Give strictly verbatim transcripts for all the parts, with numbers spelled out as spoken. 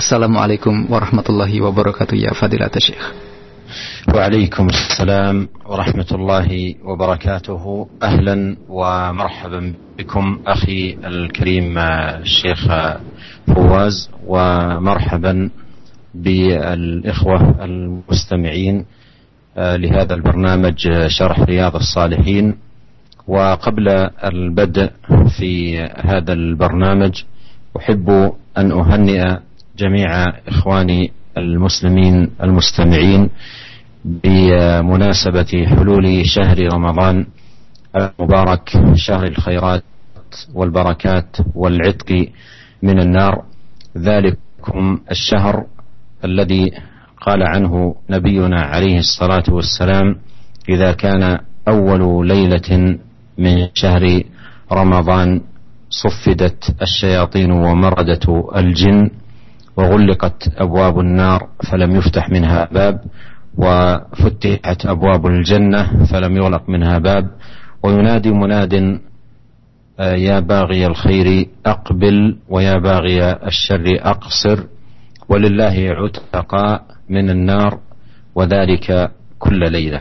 Assalamualaikum warahmatullahi wabarakatuh ya Fadilat Syekh. وعليكم السلام ورحمة الله وبركاته. أهلا ومرحبا بكم أخي الكريم الشيخ فواز، ومرحبا بالإخوة المستمعين لهذا البرنامج شرح رياض الصالحين. وقبل البدء في هذا البرنامج أحب أن أهنئ جميع إخواني المسلمين المستمعين بمناسبة حلول شهر رمضان المبارك، شهر الخيرات والبركات والعتق من النار. ذلكم الشهر الذي قال عنه نبينا عليه الصلاة والسلام: إذا كان أول ليلة من شهر رمضان صفدت الشياطين ومردت الجن وغلقت أبواب النار فلم يفتح منها باب، وفتحت أبواب الجنة فلم يغلق منها باب، وينادي مناد: يا باغي الخير أقبل ويا باغي الشر أقصر، ولله عتقاء من النار، وذلك كل ليلة.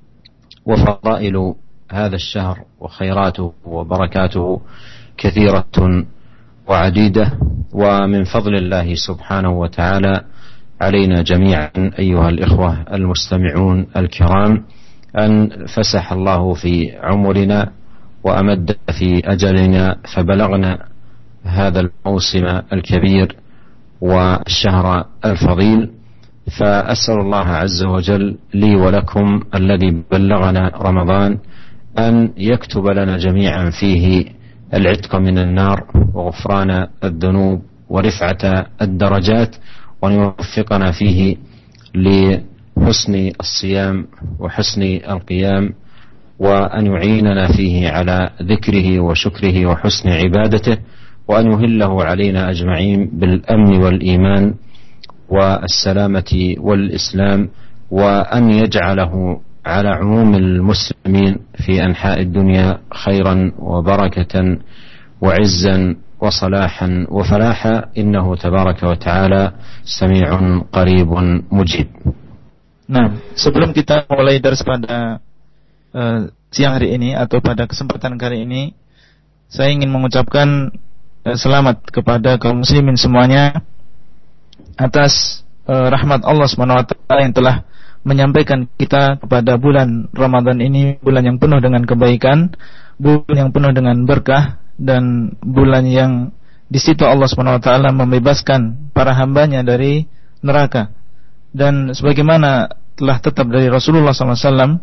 وفضائل هذا الشهر وخيراته وبركاته كثيرة وعديدة، ومن فضل الله سبحانه وتعالى علينا جميعا أيها الإخوة المستمعون الكرام أن فسح الله في عمرنا وأمد في أجلنا فبلغنا هذا الموسم الكبير والشهر الفضيل. فأسأل الله عز وجل لي ولكم الذي بلغنا رمضان أن يكتب لنا جميعا فيه العتق من النار وغفران الذنوب ورفعة الدرجات، وأن يوفقنا فيه لحسن الصيام وحسن القيام، وأن يعيننا فيه على ذكره وشكره وحسن عبادته، وأن يهله علينا أجمعين بالأمن والإيمان والسلامة والإسلام، وأن يجعله على عموم المسلمين في أنحاء الدنيا خيرا وبركة وعزا وصلاحا وفلاحا، إنه تبارك وتعالى سميع قريب مجيب. Nah, sebelum kita mulai dars pada uh, siang hari ini atau pada kesempatan kali ini, saya ingin mengucapkan uh, selamat kepada kaum muslimin semuanya atas uh, rahmat Allah subhanahu wa taala yang telah menyampaikan kita kepada bulan Ramadan ini, bulan yang penuh dengan kebaikan, bulan yang penuh dengan berkah, dan bulan yang di situ Allah subhanahu wa taala membebaskan para hambanya dari neraka. Dan sebagaimana telah tetap dari Rasulullah sallallahu alaihi wasallam,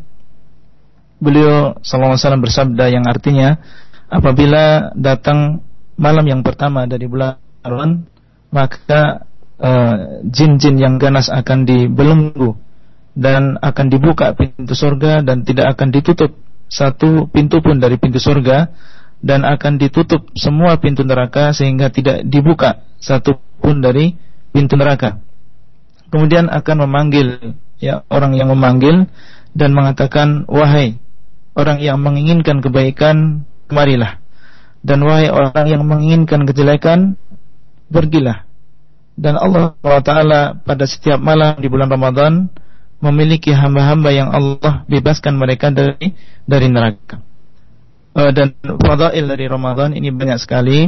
beliau sallallahu alaihi wasallam bersabda yang artinya, apabila datang malam yang pertama dari bulan Ramadan, maka uh, jin-jin yang ganas akan dibelenggu dan akan dibuka pintu surga, dan tidak akan ditutup satu pintu pun dari pintu surga, dan akan ditutup semua pintu neraka sehingga tidak dibuka satu pun dari pintu neraka. Kemudian akan memanggil, ya, orang yang memanggil dan mengatakan, wahai orang yang menginginkan kebaikan, kemarilah, dan wahai orang yang menginginkan kejelekan, pergilah. Dan Allah subhanahu wa taala pada setiap malam di bulan Ramadan memiliki hamba-hamba yang Allah bebaskan mereka dari dari neraka. Uh, dan fadail dari Ramadan ini banyak sekali,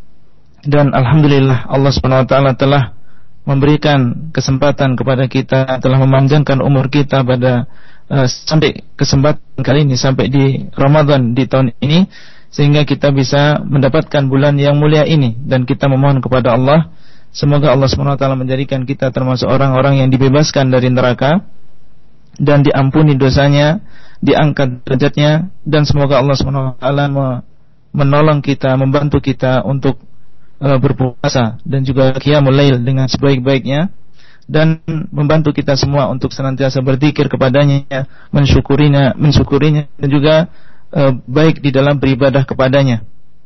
dan alhamdulillah Allah subhanahu wa taala telah memberikan kesempatan kepada kita, telah memanjangkan umur kita pada uh, sampai kesempatan kali ini, sampai di Ramadan di tahun ini, sehingga kita bisa mendapatkan bulan yang mulia ini. Dan kita memohon kepada Allah, semoga Allah subhanahu wa taala menjadikan kita termasuk orang-orang yang dibebaskan dari neraka dan diampuni dosanya, diangkat derajatnya, dan semoga Allah subhanahu wa taala menolong kita, membantu kita untuk uh, berpuasa dan juga qiyamul lail dengan sebaik-baiknya, dan membantu kita semua untuk senantiasa berzikir kepadanya, mensyukurinya, mensyukurinya dan juga uh, baik di dalam beribadah kepadanya.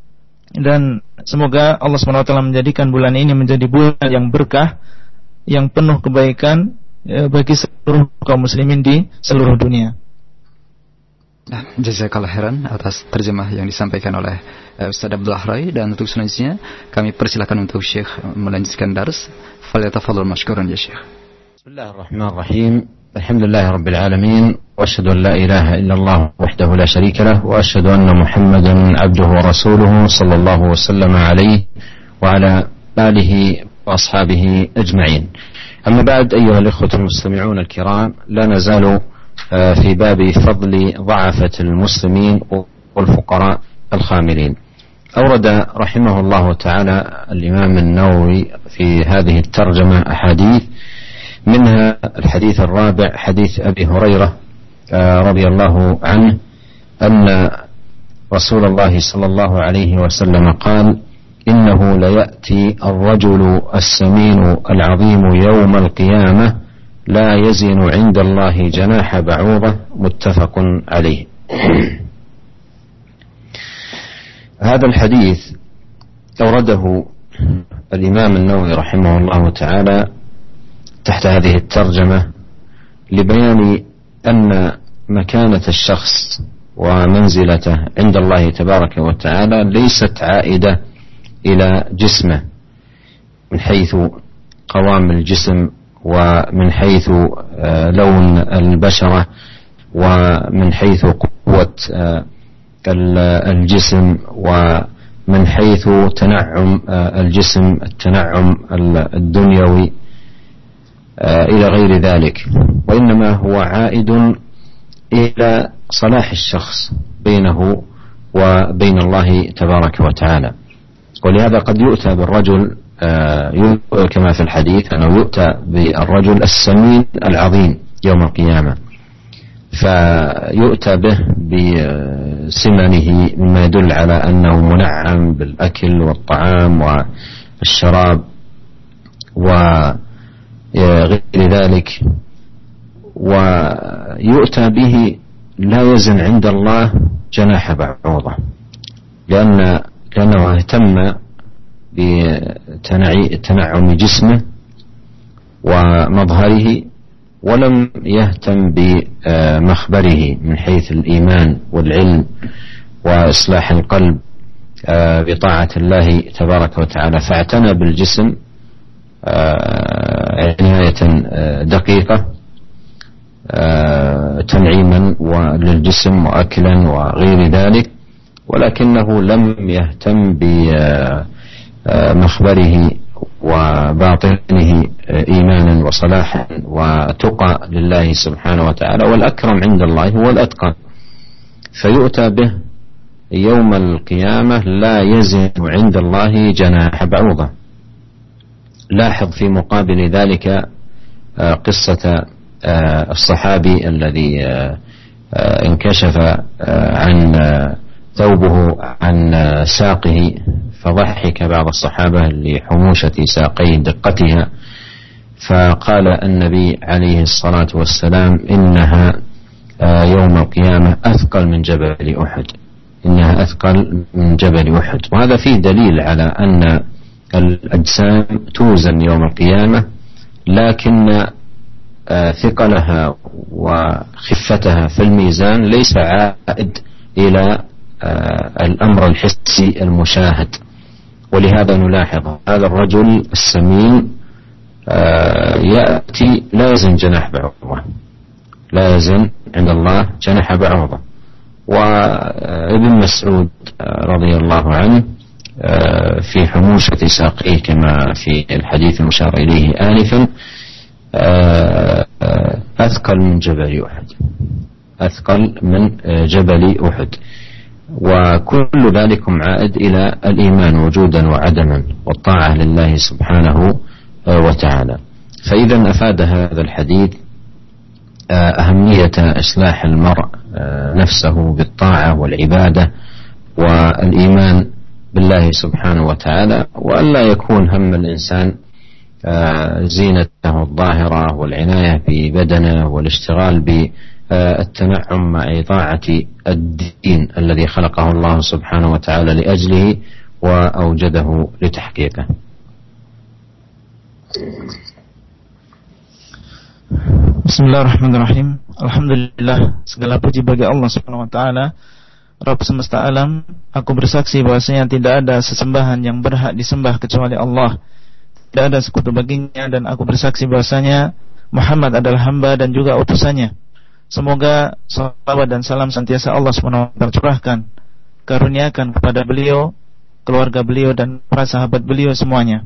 Dan semoga Allah subhanahu wa taala menjadikan bulan ini menjadi bulan yang berkah, yang penuh kebaikan bagi seluruh kaum muslimin di seluruh dunia. Nah, jazakallah khairan atas terjemah yang disampaikan oleh uh, Ustaz Abdul Ahrai, dan untuk selanjutnya kami persilakan untuk Syekh melanjutkan dars. Falyatafadhal mashkuran ya Syekh. Bismillahirrahmanirrahim. Alhamdulillahi rabbil alamin wa asyhadu an la ilaha illallah wahdahu la syarika lah wa asyhadu anna Muhammadan abduhu wa rasuluhu sallallahu wasallam alaihi wa ala alihi wa ashabihi ajma'in. Amma ba'd, ayyuha al-ikhwatu al-mustami'un al-kiram, la nazalu في باب فضل ضعفة المسلمين والفقراء الخاملين. أورد رحمه الله تعالى الإمام النووي في هذه الترجمة أحاديث، منها الحديث الرابع حديث أبي هريرة رضي الله عنه أن رسول الله صلى الله عليه وسلم قال: إنه ليأتي الرجل السمين العظيم يوم القيامة لا يزن عند الله جناح بعوضة. متفق عليه. هذا الحديث أورده الإمام النووي رحمه الله تعالى تحت هذه الترجمة لبيان أن مكانة الشخص ومنزلته عند الله تبارك وتعالى ليست عائدة إلى جسمه من حيث قوام الجسم، ومن حيث لون البشرة، ومن حيث قوة الجسم، ومن حيث تنعم الجسم التنعم الدنيوي إلى غير ذلك، وإنما هو عائد إلى صلاح الشخص بينه وبين الله تبارك وتعالى. ولهذا قد يؤتى بالرجل كما في الحديث أنه يؤتى بالرجل السمين العظيم يوم القيامة، فيؤتى به بسمنه مما يدل على أنه منعم بالأكل والطعام والشراب وغير ذلك، ويؤتى به لا يزن عند الله جناح بعوضة، لأن لأنه اهتم بتنعم جسمه ومظهره، ولم يهتم بمخبره من حيث الإيمان والعلم وإصلاح القلب بطاعة الله تبارك وتعالى، فاعتنى بالجسم عناية دقيقة تنعيما للجسم وأكلا وغير ذلك، ولكنه لم يهتم بمخبره وباطنه إيمانا وصلاحا وتقى لله سبحانه وتعالى، والأكرم عند الله هو الأتقى، فيؤتى به يوم القيامة لا يزن عند الله جناح بعوضة. لاحظ في مقابل ذلك قصة الصحابي الذي انكشف عن ثوبه عن ساقه، فضحك بعض الصحابة لحموشة ساقيه دقتها، فقال النبي عليه الصلاة والسلام: إنها يوم القيامة أثقل من جبل أحد، إنها أثقل من جبل أحد. وهذا فيه دليل على أن الأجسام توزن يوم القيامة، لكن ثقلها وخفتها في الميزان ليس عائد إلى الأمر الحسي المشاهد. ولهذا نلاحظ هذا الرجل السمين يأتي لا يزن جناح بعوضة، لا يزن عند الله جناح بعوضة. وابن مسعود رضي الله عنه في حموشة ساقيه كما في الحديث المشار إليه آنفا أثقل من جبل أحد، أثقل من جبل أحد. وكل ذلك عائد إلى الإيمان وجودا وعدما والطاعة لله سبحانه وتعالى. فإذا أفاد هذا الحديث أهمية إصلاح المرء نفسه بالطاعة والعبادة والإيمان بالله سبحانه وتعالى، وأن لا يكون هم الإنسان زينته الظاهرة والعناية ببدنه والاشتغال بالتنعم مع طاعة الدين الذي خلقه الله سبحانه وتعالى لأجله وأوجده لتحقيقه. Bismillahirrahmanirrahim. Alhamdulillah, segala puji bagi Allah Subhanahu wa taala, Rabb semesta alam. Aku bersaksi bahwasanya tidak ada sesembahan yang berhak disembah kecuali Allah. Tidak ada sekutu baginya, dan aku bersaksi bahwasanya Muhammad adalah hamba dan juga utusannya. Semoga salawat dan salam senantiasa Allah Subhanahu wa taala curahkan, karuniakan kepada beliau, keluarga beliau dan para sahabat beliau semuanya.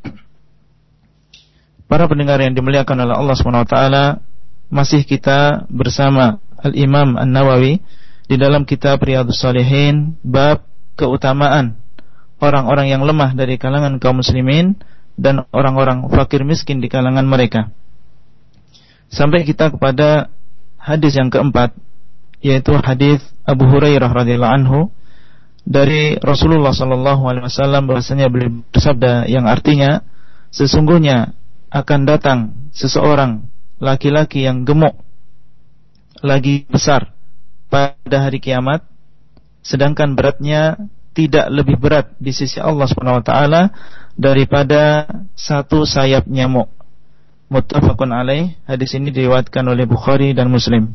Para pendengar yang dimuliakan oleh Allah Subhanahu wa taala, masih kita bersama Al-Imam An-Nawawi di dalam kitab Riyadhus Shalihin, bab keutamaan orang-orang yang lemah dari kalangan kaum muslimin dan orang-orang fakir miskin di kalangan mereka. Sampai kita kepada hadis yang keempat, yaitu hadis Abu Hurairah radhiyallahu anhu dari Rasulullah sallallahu alaihi wasallam, bahwasanya beliau bersabda yang artinya, sesungguhnya akan datang seseorang laki-laki yang gemuk lagi besar pada hari kiamat, sedangkan beratnya tidak lebih berat di sisi Allah Subhanahu wa taala daripada satu sayap nyamuk. Muttafaqun alaih. Hadis ini diriwayatkan oleh Bukhari dan Muslim.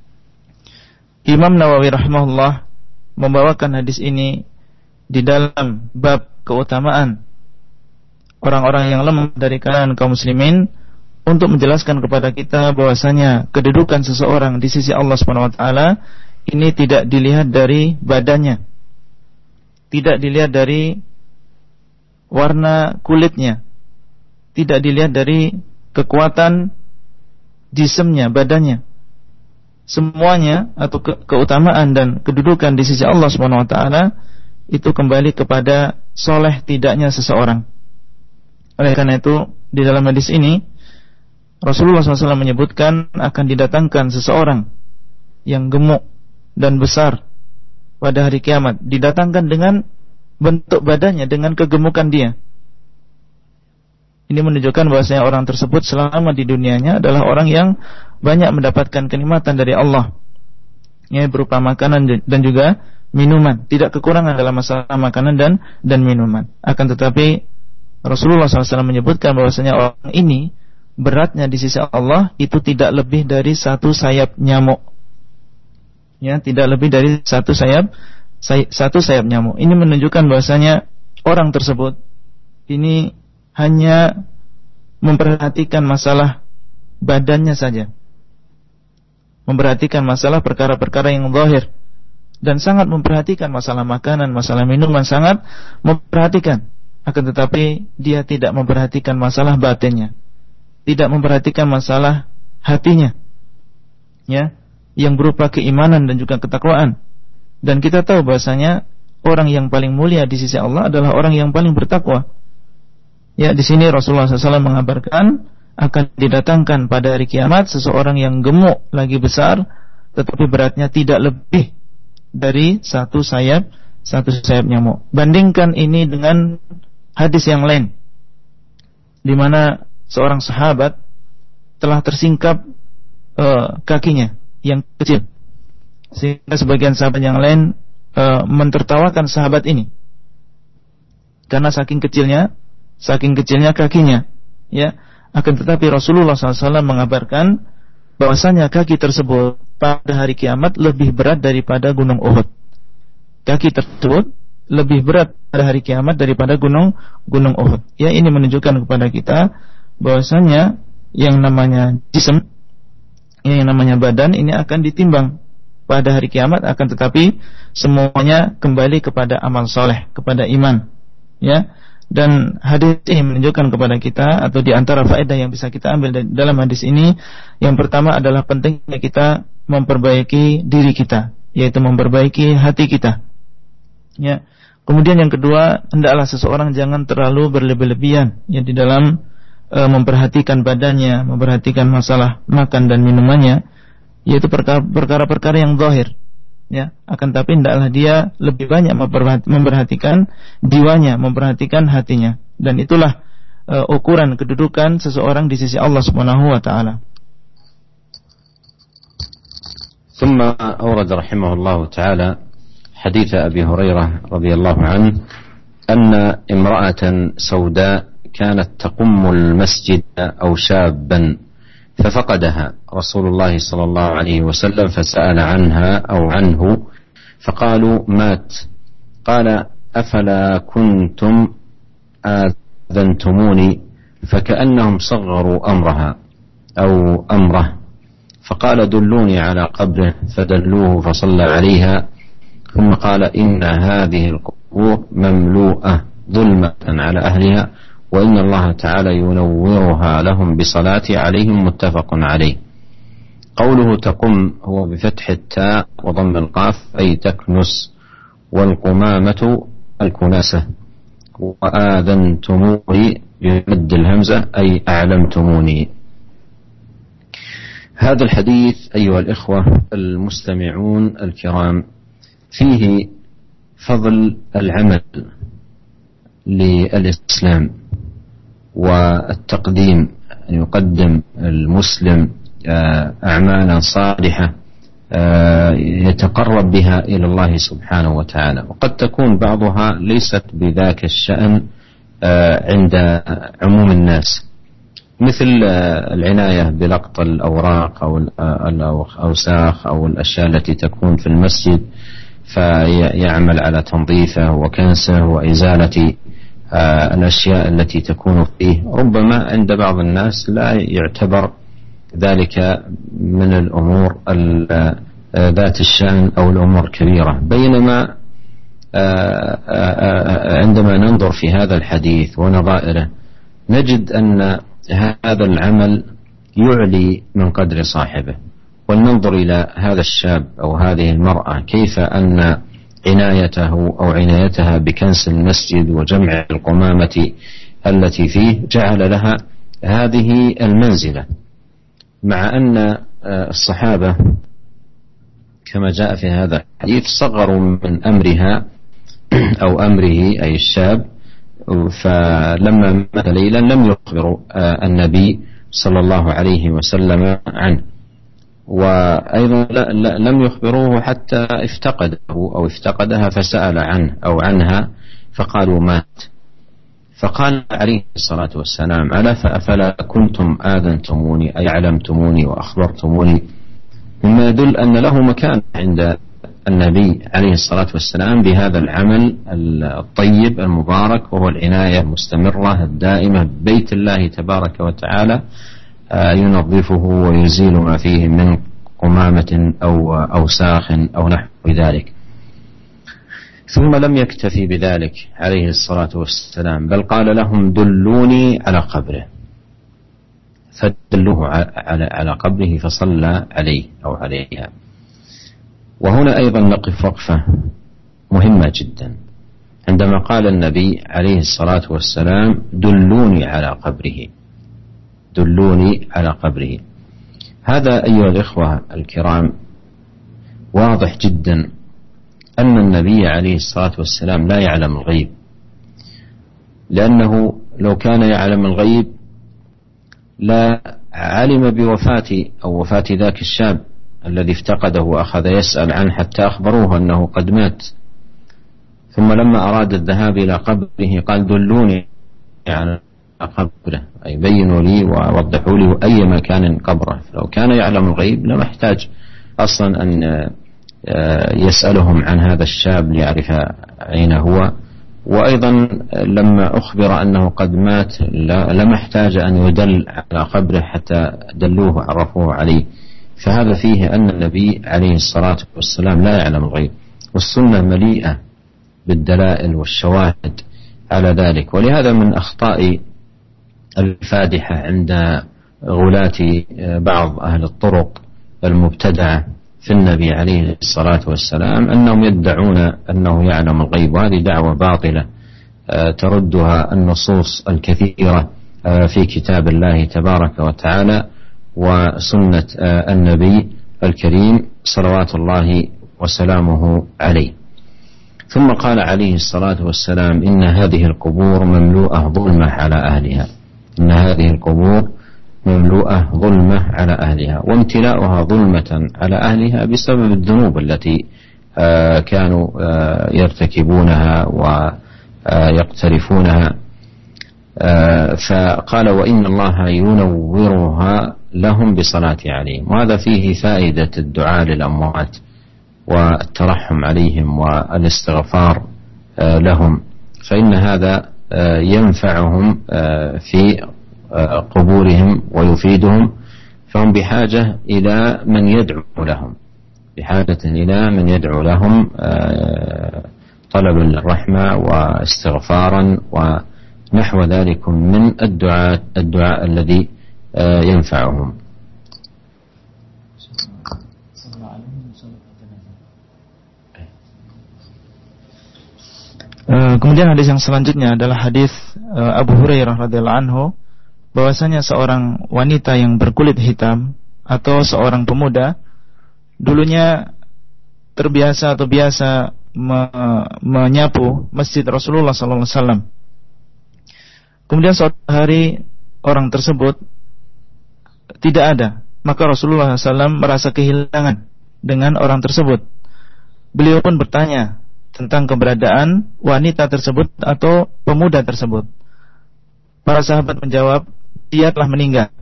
Imam Nawawi rahimahullah membawakan hadis ini di dalam bab keutamaan orang-orang yang lemah dari kalangan kaum muslimin, untuk menjelaskan kepada kita bahwasanya kedudukan seseorang di sisi Allah Subhanahu wa taala ini tidak dilihat dari badannya, tidak dilihat dari warna kulitnya, tidak dilihat dari kekuatan jisimnya, badannya. Semuanya atau ke- keutamaan dan kedudukan di sisi Allah Subhanahu wa taala itu kembali kepada soleh tidaknya seseorang. Oleh karena itu, di dalam hadis ini Rasulullah shallallahu alaihi wasallam menyebutkan akan didatangkan seseorang yang gemuk dan besar pada hari kiamat, didatangkan dengan bentuk badannya, dengan kegemukan dia. Ini menunjukkan bahwasanya orang tersebut selama di dunianya adalah orang yang banyak mendapatkan kenikmatan dari Allah, ya, berupa makanan dan juga minuman, tidak kekurangan dalam masalah makanan dan dan minuman. Akan tetapi Rasulullah shallallahu alaihi wasallam menyebutkan bahwasanya orang ini beratnya di sisi Allah itu tidak lebih dari satu sayap nyamuk, ya, tidak lebih dari satu sayap say, satu sayap nyamuk. Ini menunjukkan bahwasanya orang tersebut ini hanya memperhatikan masalah badannya saja, memperhatikan masalah perkara-perkara yang zahir, dan sangat memperhatikan masalah makanan, masalah minuman, sangat memperhatikan. Akan tetapi dia tidak memperhatikan masalah batinnya, tidak memperhatikan masalah hatinya, ya, yang berupa keimanan dan juga ketakwaan. Dan kita tahu bahasanya orang yang paling mulia di sisi Allah adalah orang yang paling bertakwa. Ya, di sini Rasulullah shallallahu alaihi wasallam mengabarkan akan didatangkan pada hari kiamat seseorang yang gemuk lagi besar, tetapi beratnya tidak lebih dari satu sayap satu sayap nyamuk. Bandingkan ini dengan hadis yang lain, di mana seorang sahabat telah tersingkap uh, kakinya yang kecil, sehingga sebagian sahabat yang lain uh, mentertawakan sahabat ini karena saking kecilnya, saking kecilnya kakinya, ya. Akan tetapi Rasulullah shallallahu alaihi wasallam mengabarkan bahwasanya kaki tersebut pada hari kiamat lebih berat daripada gunung Uhud. Kaki tersebut lebih berat pada hari kiamat daripada gunung gunung Uhud. Ya, ini menunjukkan kepada kita bahwasanya yang namanya jism, yang namanya badan ini akan ditimbang pada hari kiamat, akan tetapi semuanya kembali kepada amal soleh, kepada iman, ya. Dan hadis ini menunjukkan kepada kita, atau di antara faedah yang bisa kita ambil dalam hadis ini, yang pertama adalah pentingnya kita memperbaiki diri kita, yaitu memperbaiki hati kita, ya. Kemudian yang kedua, hendaklah seseorang jangan terlalu berlebih-lebihan, ya, di dalam e, memperhatikan badannya, memperhatikan masalah makan dan minumannya, yaitu perkara-perkara yang zahir, ya. Akan tapi hendaklah dia lebih banyak memperhatikan jiwanya, memperhatikan hatinya, dan itulah e, ukuran kedudukan seseorang di sisi Allah Subhanahu wa taala. ثم أورد رحمه الله تعالى حديث أبي هريرة رضي الله عنه أن امرأة سوداء كانت تقم المسجد أو شابا ففقدها رسول الله صلى الله عليه وسلم فسأل عنها أو عنه فقالوا مات. قال أفلا كنتم آذنتموني، فكأنهم صغروا أمرها أو أمره، فقال دلوني على قبره فدلوه فصلى عليها، ثم قال إن هذه القبور مملوءة ظلمة على أهلها وإن الله تعالى ينورها لهم بصلاة عليهم، متفق عليه. قوله تقم هو بفتح التاء وضم القاف أي تكنس، والقمامة الكناسة، وآذنتموني بمد الهمزة أي أعلمتموني. هذا الحديث أيها الإخوة المستمعون الكرام فيه فضل العمل للإسلام والتقديم، أن يقدم المسلم أعمالا صالحة يتقرب بها إلى الله سبحانه وتعالى، وقد تكون بعضها ليست بذاك الشأن عند عموم الناس، مثل العناية بلقط الأوراق أو الأوساخ أو الأشياء التي تكون في المسجد، فيعمل على تنظيفه وكنسه وإزالة الأشياء التي تكون فيه. ربما عند بعض الناس لا يعتبر ذلك من الأمور ذات الشأن أو الأمور كبيرة، بينما عندما ننظر في هذا الحديث ونظائره نجد أن هذا العمل يعلي من قدر صاحبه. ولننظر إلى هذا الشاب أو هذه المرأة كيف أن عنايته أو عنايتها بكنس المسجد وجمع القمامة التي فيه جعل لها هذه المنزلة، مع أن الصحابة كما جاء في هذا الحديث صغروا من أمرها أو أمره أي الشاب، فلما مات ليلا لم يخبروا النبي صلى الله عليه وسلم عنه، وأيضا لم يخبروه حتى افتقده أو افتقدها فسأل عنه أو عنها فقالوا مات. فقال عليه الصلاة والسلام ألا فأفلا كنتم آذنتموني أي علمتموني وأخبرتموني، مما يدل أن له مكان عند النبي عليه الصلاة والسلام بهذا العمل الطيب المبارك، وهو العناية المستمرة الدائمة ببيت الله تبارك وتعالى، ينظفه ويزيل ما فيه من قمامة أو أوساخ أو نحو ذلك. ثم لم يكتفي بذلك عليه الصلاة والسلام، بل قال لهم دلوني على قبره، فدلوه على قبره فصلى عليه أو عليها. وهنا أيضا نقف وقفة مهمة جدا عندما قال النبي عليه الصلاة والسلام دلوني على قبره، دلوني على قبره. هذا أيها الإخوة الكرام واضح جدا أن النبي عليه الصلاة والسلام لا يعلم الغيب، لأنه لو كان يعلم الغيب لا علم بوفاة أو وفاة ذاك الشاب الذي افتقده وأخذ يسأل عنه حتى أخبروه أنه قد مات. ثم لما أراد الذهاب إلى قبره قال دلوني على قبره، أي بينوا لي ووضحوا لي أي مكان قبره. لو كان يعلم الغيب لما احتاج أصلا أن يسألهم عن هذا الشاب ليعرف أين هو، وأيضا لما أخبر أنه قد مات لما احتاج أن يدل على قبره حتى دلوه وعرفوه عليه. فهذا فيه أن النبي عليه الصلاة والسلام لا يعلم الغيب، والسنة مليئة بالدلائل والشواهد على ذلك. ولهذا من أخطاء الفادحة عند غلاة بعض أهل الطرق المبتدعة في النبي عليه الصلاة والسلام أنهم يدعون أنه يعلم الغيب، وهذه دعوة باطلة تردها النصوص الكثيرة في كتاب الله تبارك وتعالى وسنة النبي الكريم صلوات الله وسلامه عليه. ثم قال عليه الصلاة والسلام إن هذه القبور مملوءة ظلمة على أهلها، إن هذه القبور مملوءة ظلمة على أهلها، وامتلاؤها ظلمة على أهلها بسبب الذنوب التي كانوا يرتكبونها ويقترفونها. فقال وإن الله ينورها لهم بصلاة عليهم. وهذا فيه فائدة الدعاء للأموات والترحم عليهم والاستغفار لهم، فإن هذا ينفعهم في قبورهم ويفيدهم، فهم بحاجة إلى من يدعو لهم، بحاجة إلى من يدعو لهم طلب الرحمة واستغفارا ونحو ذلك من الدعاء الدعاء الذي ينفعهم. Kemudian hadis yang selanjutnya adalah hadis Abu Hurairah radhiyallahu anhu, bahwasanya seorang wanita yang berkulit hitam atau seorang pemuda dulunya terbiasa atau biasa me, menyapu masjid Rasulullah sallallahu alaihi wasallam. Kemudian suatu hari orang tersebut tidak ada, maka Rasulullah sallallahu alaihi wasallam merasa kehilangan dengan orang tersebut. Beliau pun bertanya tentang keberadaan wanita tersebut atau pemuda tersebut. Para sahabat menjawab, dia telah meninggal.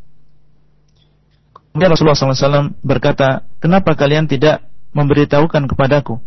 Kemudian Rasulullah sallallahu alaihi wasallam berkata, kenapa kalian tidak memberitahukan kepadaku?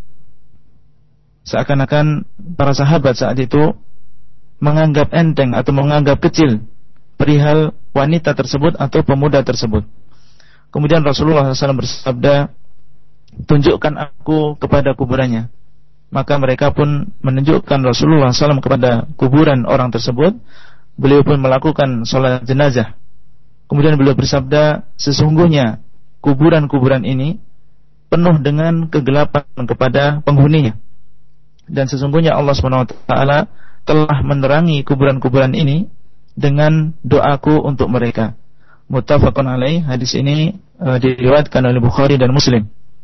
Seakan-akan para sahabat saat itu menganggap enteng atau menganggap kecil perihal wanita tersebut atau pemuda tersebut. Kemudian Rasulullah sallallahu alaihi wasallam bersabda, tunjukkan aku kepada kuburannya. Maka mereka pun menunjukkan Rasulullah sallallahu alaihi wasallam kepada kuburan orang tersebut. Beliau pun melakukan sholat jenazah. Kemudian beliau bersabda, sesungguhnya kuburan-kuburan ini penuh dengan kegelapan kepada penghuninya, dan sesungguhnya Allah subhanahu wa taala telah menerangi kuburan-kuburan ini dengan doaku untuk mereka. Muttafaqun alaih. Hadis ini uh, diriwayatkan oleh Bukhari dan Muslim.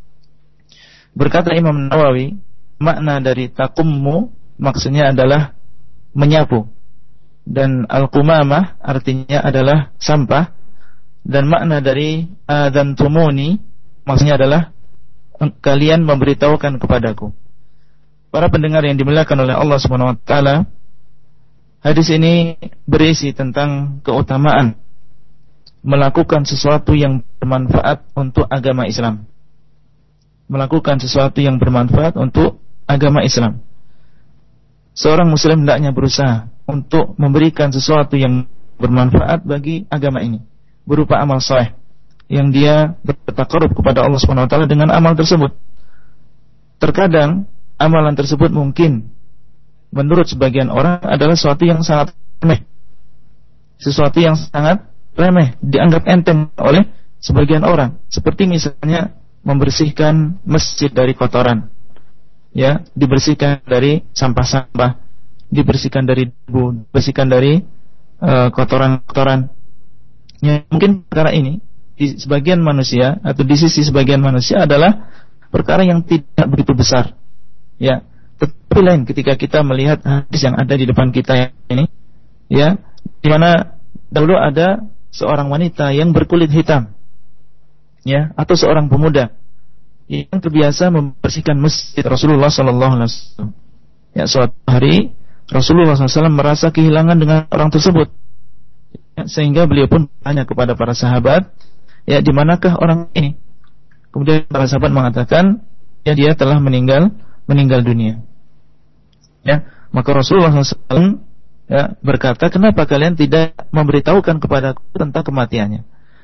Berkata Imam Nawawi, makna dari taqummu maksudnya adalah menyapu, dan al-qumamah artinya adalah sampah, dan makna dari adzantumuni maksudnya adalah kalian memberitahukan kepadaku. Para pendengar yang dimuliakan oleh Allah Subhanahu wa taala, hadis ini berisi tentang keutamaan melakukan sesuatu yang bermanfaat untuk agama Islam. Melakukan sesuatu yang bermanfaat untuk agama Islam. Seorang muslim hendaknya berusaha untuk memberikan sesuatu yang bermanfaat bagi agama ini, berupa amal saleh yang dia bertaqarrub kepada Allah Subhanahu wa taala dengan amal tersebut. Terkadang amalan tersebut mungkin menurut sebagian orang adalah sesuatu yang sangat remeh. Sesuatu yang sangat remeh, dianggap enteng oleh sebagian orang, seperti misalnya membersihkan masjid dari kotoran. Ya, dibersihkan dari sampah-sampah, dibersihkan dari debu, dibersihkan dari uh, kotoran-kotoran. Ya, mungkin perkara ini di sebagian manusia atau di sisi sebagian manusia adalah perkara yang tidak begitu besar. Ya, tetapi lain ketika kita melihat hadis yang ada di depan kita ini, ya, di mana dahulu ada seorang wanita yang berkulit hitam, ya, atau seorang pemuda yang terbiasa membersihkan masjid Rasulullah sallallahu alaihi wasallam. Ya, suatu hari Rasulullah sallallahu alaihi wasallam merasa kehilangan dengan orang tersebut. Ya, sehingga beliau pun bertanya kepada para sahabat, ya, di manakah orang ini? Kemudian para sahabat mengatakan, ya, dia telah meninggal meninggal dunia. Ya, maka Rasulullah sallallahu alaihi wasallam ya berkata, kenapa kalian tidak memberitahukan kepadaku tentang kematiannya?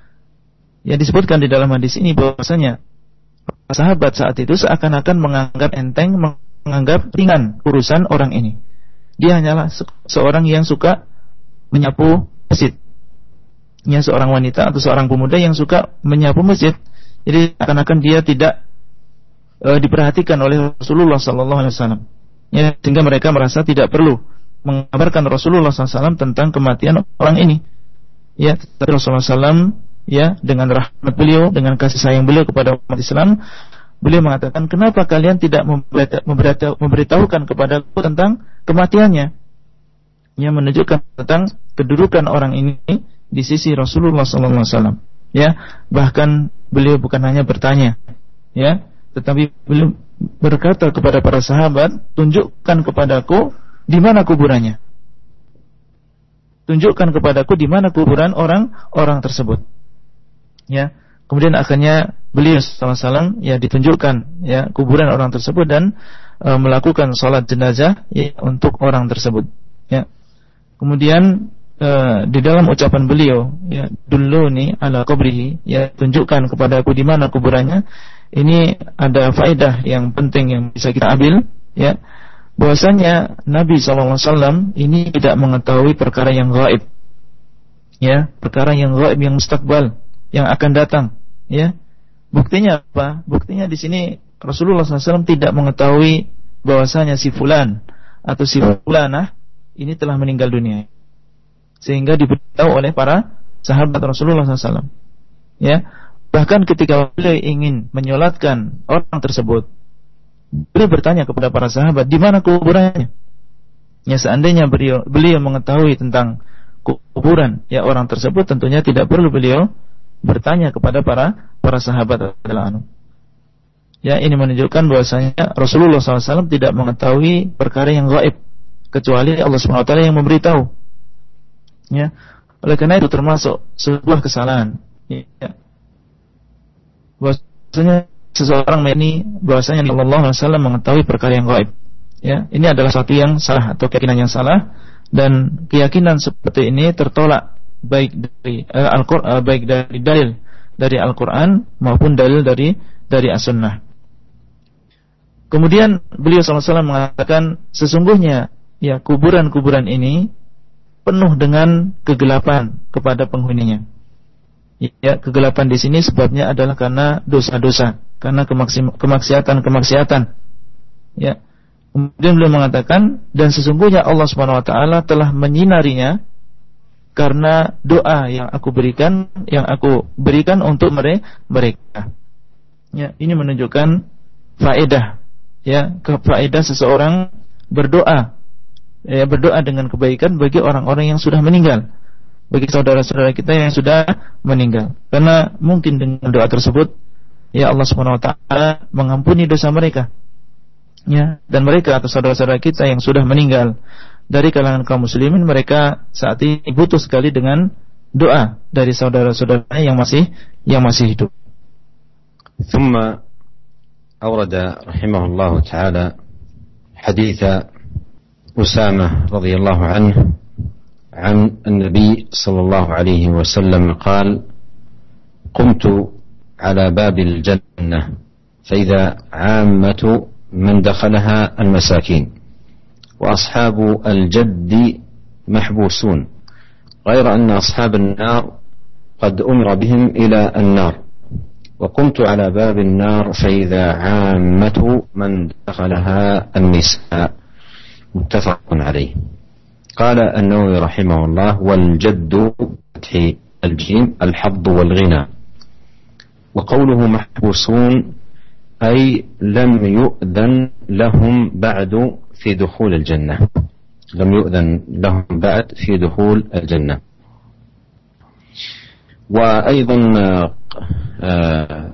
Ya, disebutkan di dalam hadis ini bahwasanya sahabat saat itu seakan-akan menganggap enteng, menganggap ringan urusan orang ini. Dia hanyalah se- seorang yang suka menyapu masjid. Ya, seorang wanita atau seorang pemuda yang suka menyapu masjid. Jadi seakan-akan dia tidak e, diperhatikan oleh Rasulullah sallallahu alaihi wasallam. Ya, sehingga mereka merasa tidak perlu mengabarkan Rasulullah sallallahu alaihi wasallam tentang kematian orang ini. Ya, tetapi Rasulullah sallallahu alaihi wasallam, ya, dengan rahmat beliau, dengan kasih sayang beliau kepada umat Islam, beliau mengatakan, kenapa kalian tidak memberitahukan kepadaku tentang kematiannya? Yang menunjukkan tentang kedudukan orang ini di sisi Rasulullah sallallahu alaihi wasallam. Ya, bahkan beliau bukan hanya bertanya, ya, tetapi beliau berkata kepada para sahabat, tunjukkan kepadaku di mana kuburannya. Tunjukkan kepadaku di mana kuburan orang-orang tersebut. Ya, kemudian akhirnya beliau sallallahu alaihi wasallam ya ditunjukkan ya kuburan orang tersebut dan e, melakukan sholat jenazah ya, untuk orang tersebut. Ya, kemudian e, di dalam ucapan beliau ya dulluni ala qabrihi, ya tunjukkan kepada aku di mana kuburannya. Ini ada faedah yang penting yang bisa kita ambil, ya, bahwasanya Nabi sallallahu alaihi wasallam ini tidak mengetahui perkara yang gaib, ya, perkara yang gaib, yang mustakbal, yang akan datang, ya. Buktinya apa? Buktinya di sini Rasulullah sallallahu alaihi wasallam tidak mengetahui bahwasanya si fulan atau si fulanah ini telah meninggal dunia, sehingga diberitahu oleh para sahabat Rasulullah sallallahu alaihi wasallam, ya. Bahkan ketika beliau ingin menyolatkan orang tersebut, beliau bertanya kepada para sahabat, di mana kuburannya? Ya, seandainya beliau, beliau mengetahui tentang kuburan ya orang tersebut, tentunya tidak perlu beliau bertanya kepada para para sahabat radhiyallahu anhum. Ya, ini menunjukkan bahwasanya Rasulullah sallallahu alaihi wasallam tidak mengetahui perkara yang gaib, kecuali Allah subhanahu wa taala yang memberitahu. Ya, oleh karena itu termasuk sebuah kesalahan. Ya. Bahwasanya seseorang ini bahwasanya Allah sallallahu alaihi wasallam mengetahui perkara yang gaib. Ya, ini adalah satu yang salah atau keyakinan yang salah, dan keyakinan seperti ini tertolak baik dari uh, Al-Qur'an, uh, baik dari dalil dari Al-Qur'an maupun dalil dari dari As-Sunnah. Kemudian beliau sallallahu alaihi wasallam mengatakan sesungguhnya ya kuburan-kuburan ini penuh dengan kegelapan kepada penghuninya. Ya, kegelapan di sini sebabnya adalah karena dosa-dosa, karena kemaksiatan-kemaksiatan. Ya. Kemudian beliau mengatakan, dan sesungguhnya Allah Subhanahu wa taala telah menyinarinya karena doa yang aku berikan, yang aku berikan untuk mereka. Ya, ini menunjukkan faedah, ya, faedah seseorang berdoa, ya, berdoa dengan kebaikan bagi orang-orang yang sudah meninggal, bagi saudara-saudara kita yang sudah meninggal. Karena mungkin dengan doa tersebut, ya, Allah Subhanahu wa taala mengampuni dosa mereka. Ya, dan mereka atau saudara-saudara kita yang sudah meninggal dari kalangan kaum muslimin, mereka saat ini butuh sekali dengan doa dari saudara-saudara yang masih yang masih hidup. ثم أورد رحمه الله تعالى حديث أسامة رضي الله عنه عن النبي صلى الله عليه وسلم قال: قمت على باب الجنة فإذا عامة من دخلها المساكين وأصحاب الجد محبوسون غير أن أصحاب النار قد أمر بهم إلى النار وقمت على باب النار فإذا عامة من دخلها النساء متفق عليه. قال النووي رحمه الله: والجد فتح الجيم الحظ والغنى. وقوله محبوسون أي لم يؤذن لهم بعد في دخول الجنة، لم يؤذن لهم بعد في دخول الجنة. وأيضا آه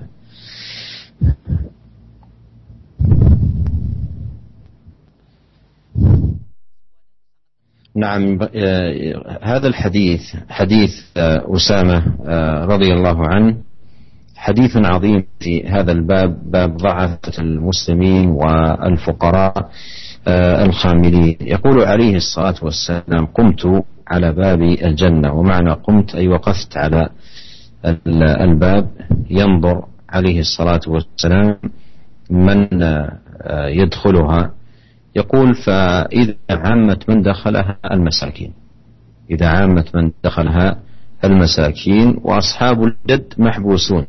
نعم هذا الحديث حديث أسامة رضي الله عنه حديث عظيم في هذا الباب، باب ضعفة المسلمين والفقراء الخاملين. يقول عليه الصلاة والسلام: قمت على باب الجنة، ومعنى قمت أي وقفت على الباب ينظر عليه الصلاة والسلام من يدخلها. يقول: فإذا عامت من دخلها المساكين، إذا عامت من دخلها المساكين وأصحاب الجد محبوسون،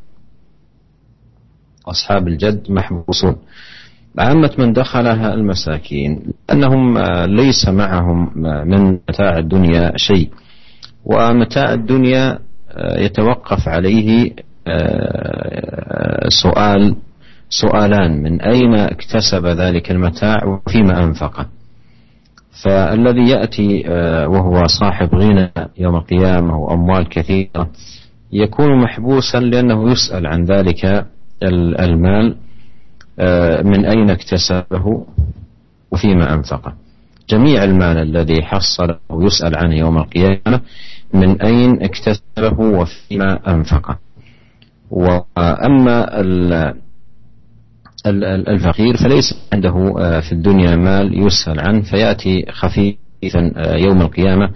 أصحاب الجد محبوسون. عامة من دخلها المساكين أنهم ليس معهم من متاع الدنيا شيء، ومتاع الدنيا يتوقف عليه سؤال سؤالان: من أين اكتسب ذلك المتاع وفيما أنفقه. فالذي يأتي وهو صاحب غنى يوم القيامة وأموال كثيرة يكون محبوسا لأنه يسأل عن ذلك المال من أين اكتسبه وفيما أنفقه. جميع المال الذي حصله يسأل عنه يوم القيامة من أين اكتسبه وفيما أنفقه. وأما الفقير فليس عنده في الدنيا مال يسأل عنه فيأتي خفيفا يوم القيامة.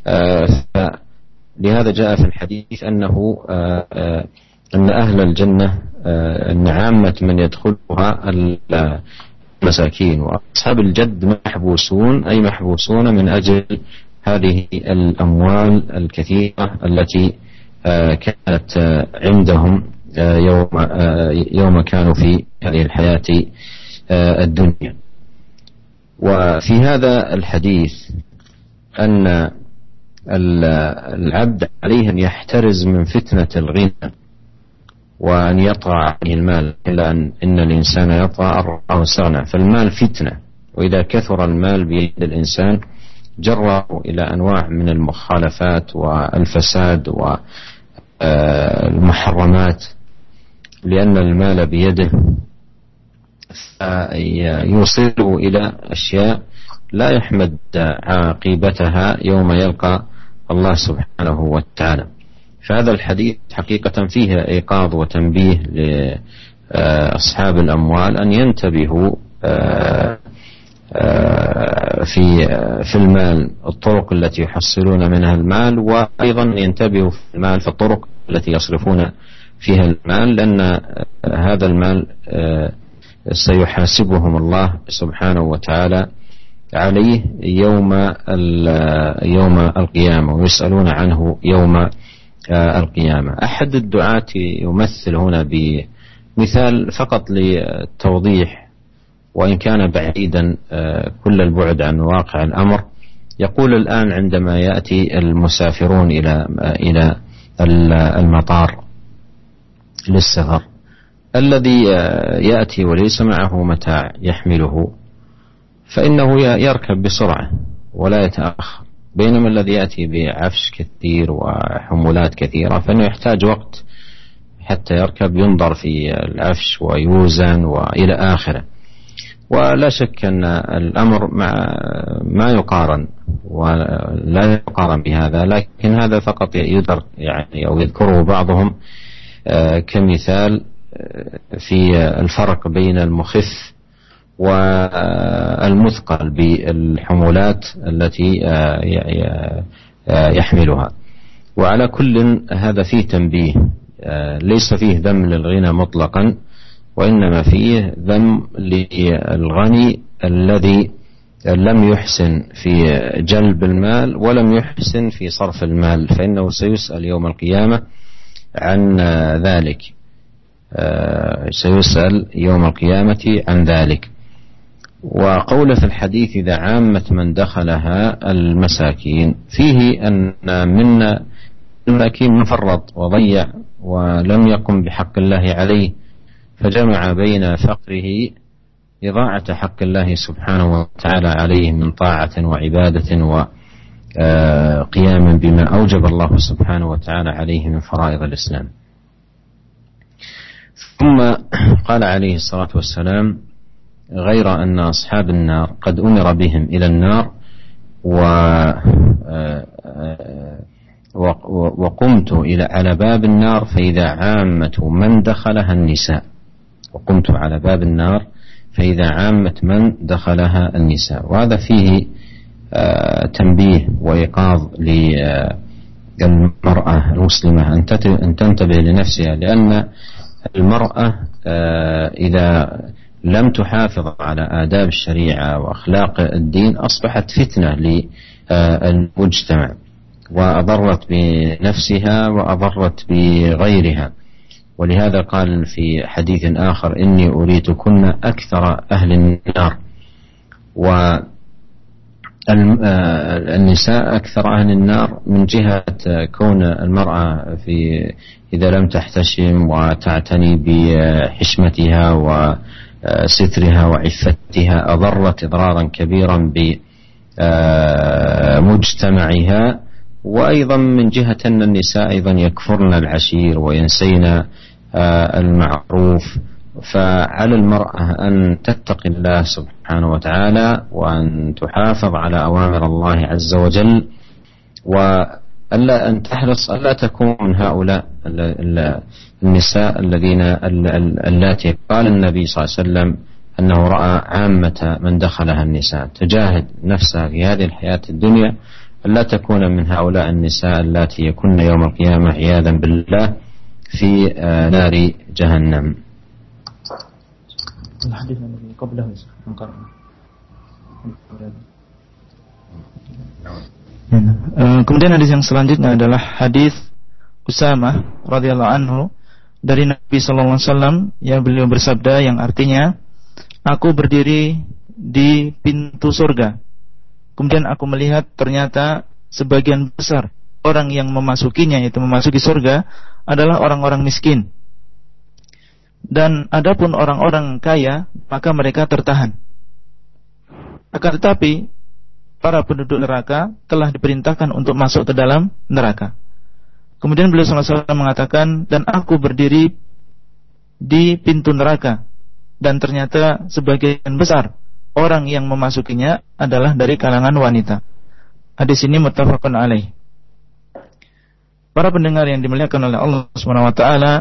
لهذا جاء في الحديث أنه أن أهل الجنة أن عامة من يدخلها المساكين، وأصحاب الجد محبوسون، أي محبوسون من أجل هذه الأموال الكثيرة التي كانت عندهم يوم يوم كانوا في هذه الحياة الدنيا. وفي هذا الحديث أن العبد عليه أن يحترز من فتنة الغنى وأن يطغى عليه المال، إلا أن إن الإنسان يطغى أو استغنى. فالمال فتنة، وإذا كثر المال بيد الإنسان جره إلى أنواع من المخالفات والفساد والمحرمات، لأن المال بيده يوصله إلى أشياء لا يحمد عاقبتها يوم يلقى الله سبحانه وتعالى. فهذا الحديث حقيقة فيه إيقاظ وتنبيه لأصحاب الأموال أن ينتبهوا في في المال، الطرق التي يحصلون منها المال، وأيضا ينتبهوا في المال في الطرق التي يصرفون فيها المال، لأن هذا المال سيحاسبهم الله سبحانه وتعالى عليه يوم يوم القيامة، ويسألون عنه يوم القيامة. أحد الدعاة يمثل هنا بمثال فقط للتوضيح، وإن كان بعيدا كل البعد عن واقع الأمر. يقول الآن عندما يأتي المسافرون إلى إلى المطار للسفر، الذي يأتي وليس معه متاع يحمله فإنه يركب بسرعة ولا يتأخر، بينما الذي يأتي بعفش كثير وحمولات كثيرة فإنه يحتاج وقت حتى يركب، ينظر في العفش ويوزن وإلى آخره. ولا شك أن الأمر مع ما يقارن ولا يقارن بهذا، لكن هذا فقط يدرك يعني أو يذكره بعضهم كمثال في الفرق بين المخف والمثقل بالحمولات التي يحملها. وعلى كل هذا فيه تنبيه، ليس فيه ذم للغنى مطلقا، وإنما فيه ذم للغني الذي لم يحسن في جلب المال ولم يحسن في صرف المال، فإنه سيسأل يوم القيامة عن ذلك، سيسأل يوم القيامة عن ذلك. وقول في الحديث إذا عامة من دخلها المساكين، فيه أن من المساكين من فرط وضيع ولم يقم بحق الله عليه، فجمع بين فقره إضاعة حق الله سبحانه وتعالى عليه من طاعة وعبادة وقيام بما أوجب الله سبحانه وتعالى عليه من فرائض الإسلام. ثم قال عليه الصلاة والسلام غير أن أصحاب النار قد أمر بهم إلى النار وقمت إلى على باب النار فإذا عامة من دخلها النساء، وقمت على باب النار فإذا عامة من دخلها النساء. وهذا فيه تنبيه وإيقاظ للمرأة المسلمة أن تنتبه لنفسها، لأن المرأة إذا لم تحافظ على آداب الشريعة وأخلاق الدين أصبحت فتنة للمجتمع، وأضرت بنفسها وأضرت بغيرها. ولهذا قال في حديث آخر إني أريتكن أكثر أهل النار. والنساء أكثر أهل النار من جهة كون المرأة في إذا لم تحتشم وتعتني بحشمتها وسترها وعفتها أضرت إضرارا كبيرا بمجتمعها. وأيضا من جهة أن النساء أيضا يكفرن العشير وينسين المعروف، فعلى المرأة أن تتقي الله سبحانه وتعالى وأن تحافظ على أوامر الله عز وجل، وألا أن تحرص ألا تكون من هؤلاء النساء الذين اللاتي قال النبي صلى الله عليه وسلم أنه رأى عامة من دخلها النساء. تجاهد نفسها في هذه الحياة الدنيا ألا تكون من هؤلاء النساء اللاتي يكون يوم القيامة عياذا بالله في نار جهنم. Kemudian hadis yang selanjutnya adalah hadis Usamah radhiyallahu anhu dari Nabi sallallahu alaihi wasallam yang beliau bersabda yang artinya, aku berdiri di pintu surga. Kemudian aku melihat ternyata sebagian besar orang yang memasukinya, yaitu memasuki surga, adalah orang-orang miskin. Dan adapun orang-orang kaya, maka mereka tertahan. Akan tetapi para penduduk neraka telah diperintahkan untuk masuk ke dalam neraka. Kemudian beliau sallallahu alaihi wasallam mengatakan, dan aku berdiri di pintu neraka, dan ternyata sebagian besar orang yang memasukinya adalah dari kalangan wanita. Hadis ini muttafaqun alaih. Para pendengar yang dimuliakan oleh Allah Subhanahu wa taala,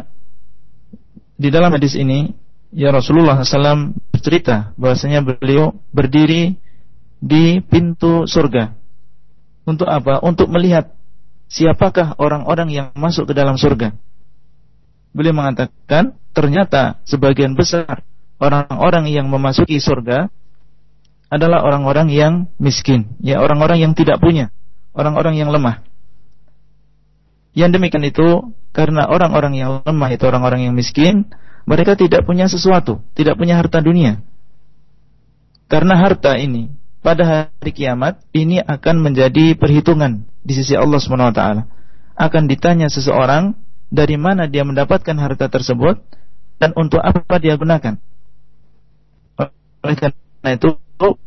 di dalam hadis ini ya Rasulullah sallallahu alaihi wasallam bercerita bahwasanya beliau berdiri di pintu surga. Untuk apa? Untuk melihat siapakah orang-orang yang masuk ke dalam surga. Beliau mengatakan ternyata sebagian besar orang-orang yang memasuki surga adalah orang-orang yang miskin, ya, orang-orang yang tidak punya, orang-orang yang lemah. Yang demikian itu karena orang-orang yang lemah itu orang-orang yang miskin, mereka tidak punya sesuatu, tidak punya harta dunia. Karena harta ini pada hari kiamat ini akan menjadi perhitungan di sisi Allah Subhanahu wa taala. Akan ditanya seseorang dari mana dia mendapatkan harta tersebut dan untuk apa dia gunakan. Oleh karena itu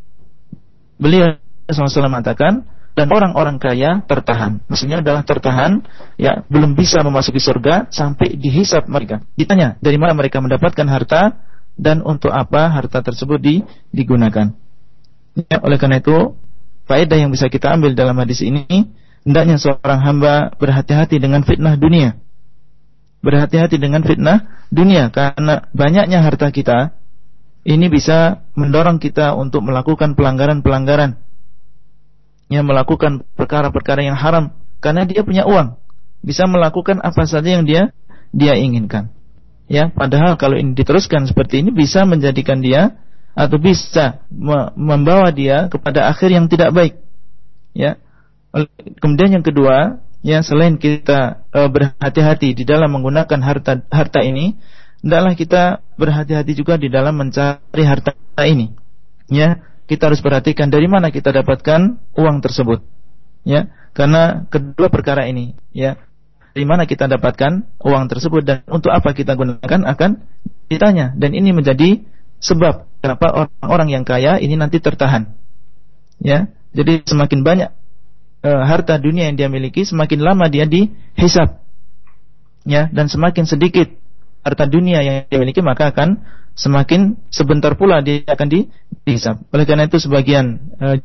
beliau sallallahu alaihi wasallam mengatakan, dan orang-orang kaya tertahan. Maksudnya adalah tertahan, ya, belum bisa memasuki surga sampai dihisab mereka. Ditanya dari mana mereka mendapatkan harta dan untuk apa harta tersebut di, digunakan. Ya, oleh karena itu, faedah yang bisa kita ambil dalam hadis ini, hendaknya seorang hamba berhati-hati dengan fitnah dunia. Berhati-hati dengan fitnah dunia, karena banyaknya harta kita ini bisa mendorong kita untuk melakukan pelanggaran-pelanggaran, yang melakukan perkara-perkara yang haram, karena dia punya uang, bisa melakukan apa saja yang dia dia inginkan. Ya, padahal kalau ini diteruskan seperti ini bisa menjadikan dia atau bisa me- membawa dia kepada akhir yang tidak baik. Ya. Kemudian yang kedua, ya, selain kita e, berhati-hati di dalam menggunakan harta harta ini, hendaklah kita berhati-hati juga di dalam mencari harta ini. Ya. Kita harus perhatikan dari mana kita dapatkan uang tersebut, ya, karena kedua perkara ini, ya, dari mana kita dapatkan uang tersebut dan untuk apa kita gunakan akan ditanya, dan ini menjadi sebab kenapa orang-orang yang kaya ini nanti tertahan, ya. Jadi semakin banyak e, harta dunia yang dia miliki, semakin lama dia dihisab, ya, dan semakin sedikit harta dunia yang dia miliki, maka akan semakin sebentar pula dia akan di, dihisab. Oleh karena itu sebagian uh,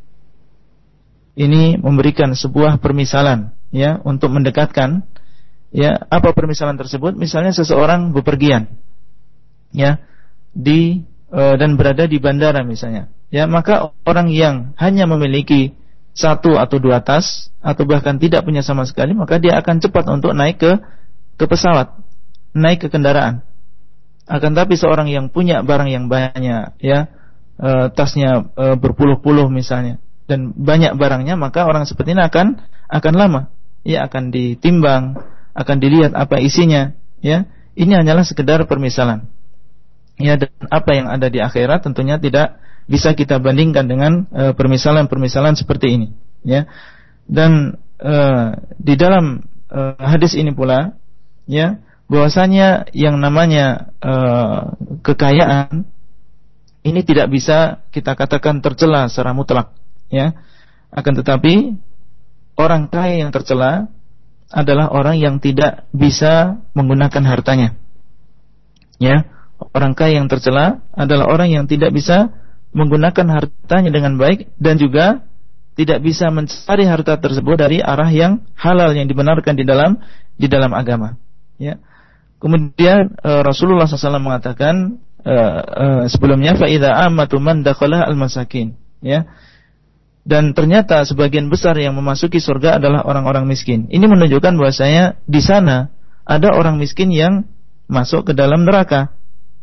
ini memberikan sebuah permisalan, ya, untuk mendekatkan, ya, apa permisalan tersebut? Misalnya seseorang bepergian, ya, di uh, dan berada di bandara misalnya, ya, maka orang yang hanya memiliki satu atau dua tas atau bahkan tidak punya sama sekali, maka dia akan cepat untuk naik ke ke pesawat, naik ke kendaraan. Akan tapi seorang yang punya barang yang banyak, ya, e, tasnya e, berpuluh-puluh misalnya, dan banyak barangnya, maka orang seperti ini akan akan lama, ya, akan ditimbang, akan dilihat apa isinya, ya. Ini hanyalah sekedar permisalan, ya, dan apa yang ada di akhirat tentunya tidak bisa kita bandingkan dengan e, permisalan-permisalan seperti ini, ya. Dan e, di dalam e, hadis ini pula, ya, bahwasanya yang namanya uh, kekayaan ini tidak bisa kita katakan tercela secara mutlak, ya. Akan tetapi orang kaya yang tercela adalah orang yang tidak bisa menggunakan hartanya, ya. Orang kaya yang tercela adalah orang yang tidak bisa menggunakan hartanya dengan baik dan juga tidak bisa mencari harta tersebut dari arah yang halal yang dibenarkan di dalam di dalam agama, ya. Kemudian uh, Rasulullah shallallahu alaihi wasallam mengatakan uh, uh, sebelumnya fa idza amatu man dakhala al-masakin, ya. Dan ternyata sebagian besar yang memasuki surga adalah orang-orang miskin. Ini menunjukkan bahwasanya di sana ada orang miskin yang masuk ke dalam neraka.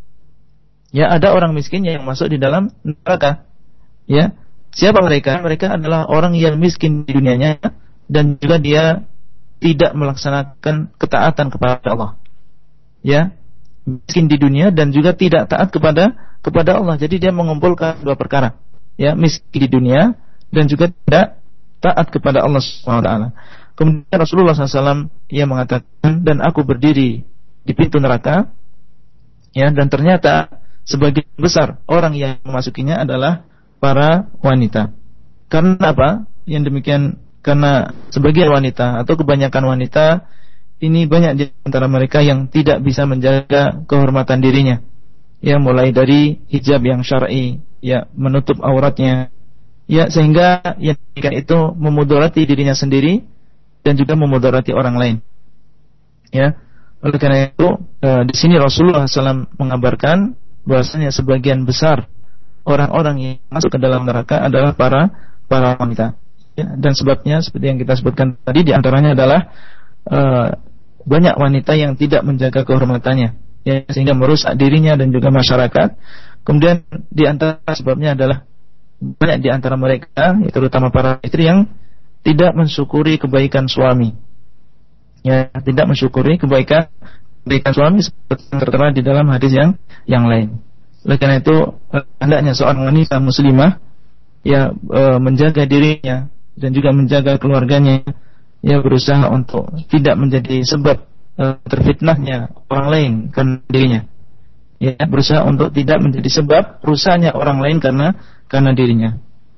Ya, ada orang miskin yang masuk di dalam neraka. Ya. Siapa mereka? Mereka adalah orang yang miskin di dunianya dan juga dia tidak melaksanakan ketaatan kepada Allah. Ya, miskin di dunia dan juga tidak taat kepada kepada Allah. Jadi dia mengumpulkan dua perkara. Ya, miskin di dunia dan juga tidak taat kepada Allah subhanahu wa taala. Kemudian Rasulullah shallallahu alaihi wasallam ia mengatakan, dan aku berdiri di pintu neraka, ya, dan ternyata sebagian besar orang yang memasukinya adalah para wanita. Karena apa? Yang demikian karena sebagian wanita atau kebanyakan wanita ini banyak di antara mereka yang tidak bisa menjaga kehormatan dirinya. Ya, mulai dari hijab yang syar'i, ya, menutup auratnya, ya, sehingga yang demikian itu memudarati dirinya sendiri dan juga memudarati orang lain. Ya, oleh karena itu eh, di sini Rasulullah shallallahu alaihi wasallam mengabarkan bahwasanya sebagian besar orang-orang yang masuk ke dalam neraka adalah para para wanita. Ya, dan sebabnya seperti yang kita sebutkan tadi, di antaranya adalah eh, banyak wanita yang tidak menjaga kehormatannya, ya, sehingga merusak dirinya dan juga masyarakat. Kemudian di antara sebabnya adalah banyak di antara mereka, terutama para istri, yang tidak mensyukuri kebaikan suami. Ya, tidak mensyukuri kebaikan kebaikan suami seperti yang tertera di dalam hadis yang yang lain. Oleh karena itu hendaknya seorang wanita muslimah ya e, menjaga dirinya dan juga menjaga keluarganya, ya, berusaha untuk tidak menjadi sebab e, terfitnahnya orang lain karena dirinya. Ya, berusaha untuk tidak menjadi sebab rusaknya orang lain karena karena dirinya.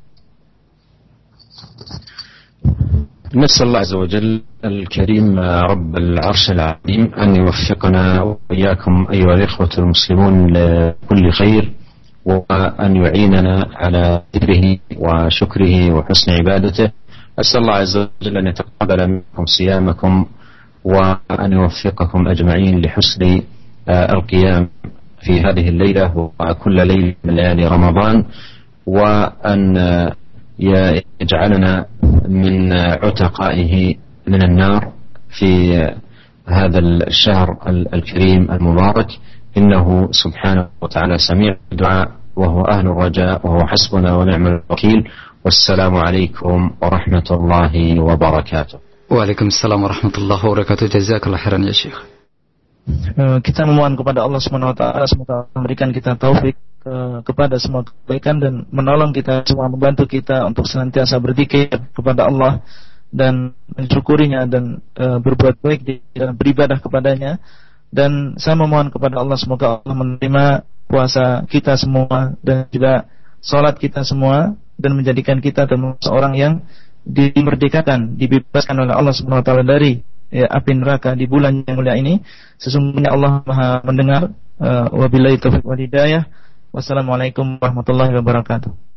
نسأل الله عز وجل الكريم رب العرش العظيم أن يوفقنا وإياكم أيها الإخوة المسلمون لكل خير، وأن يعيننا على ذكره وشكره وحسن عبادته. أسأل الله عز وجل أن يتقبل منكم صيامكم وأن يوفقكم أجمعين لحسن القيام في هذه الليلة وكل ليلة من ليالي رمضان، وأن يجعلنا من عتقائه من النار في هذا الشهر الكريم المبارك، إنه سبحانه وتعالى سميع الدعاء وهو أهل الرجاء وهو حسبنا ونعم الوكيل. والسلام عليكم ورحمة الله وبركاته. Waalaikumsalam warahmatullahi wabarakatuh. Jazakallah khairan ya Syekh. Kita memohon kepada Allah subhanahu wa taala semoga memberikan kita taufik ke, kepada semua kebaikan dan menolong kita semua, membantu kita untuk senantiasa berzikir kepada Allah dan mensyukurinya dan e, berbuat baik di dalam beribadah kepadanya. Dan saya memohon kepada Allah semoga Allah menerima puasa kita semua dan juga salat kita semua dan menjadikan kita termasuk orang yang dimerdekakan, dibebaskan oleh Allah subhanahu wa taala dari ya, api neraka di bulan yang mulia ini. Sesungguhnya Allah Maha mendengar. uh, Wabillahi taufiq wal hidayah. Wassalamualaikum warahmatullahi wabarakatuh.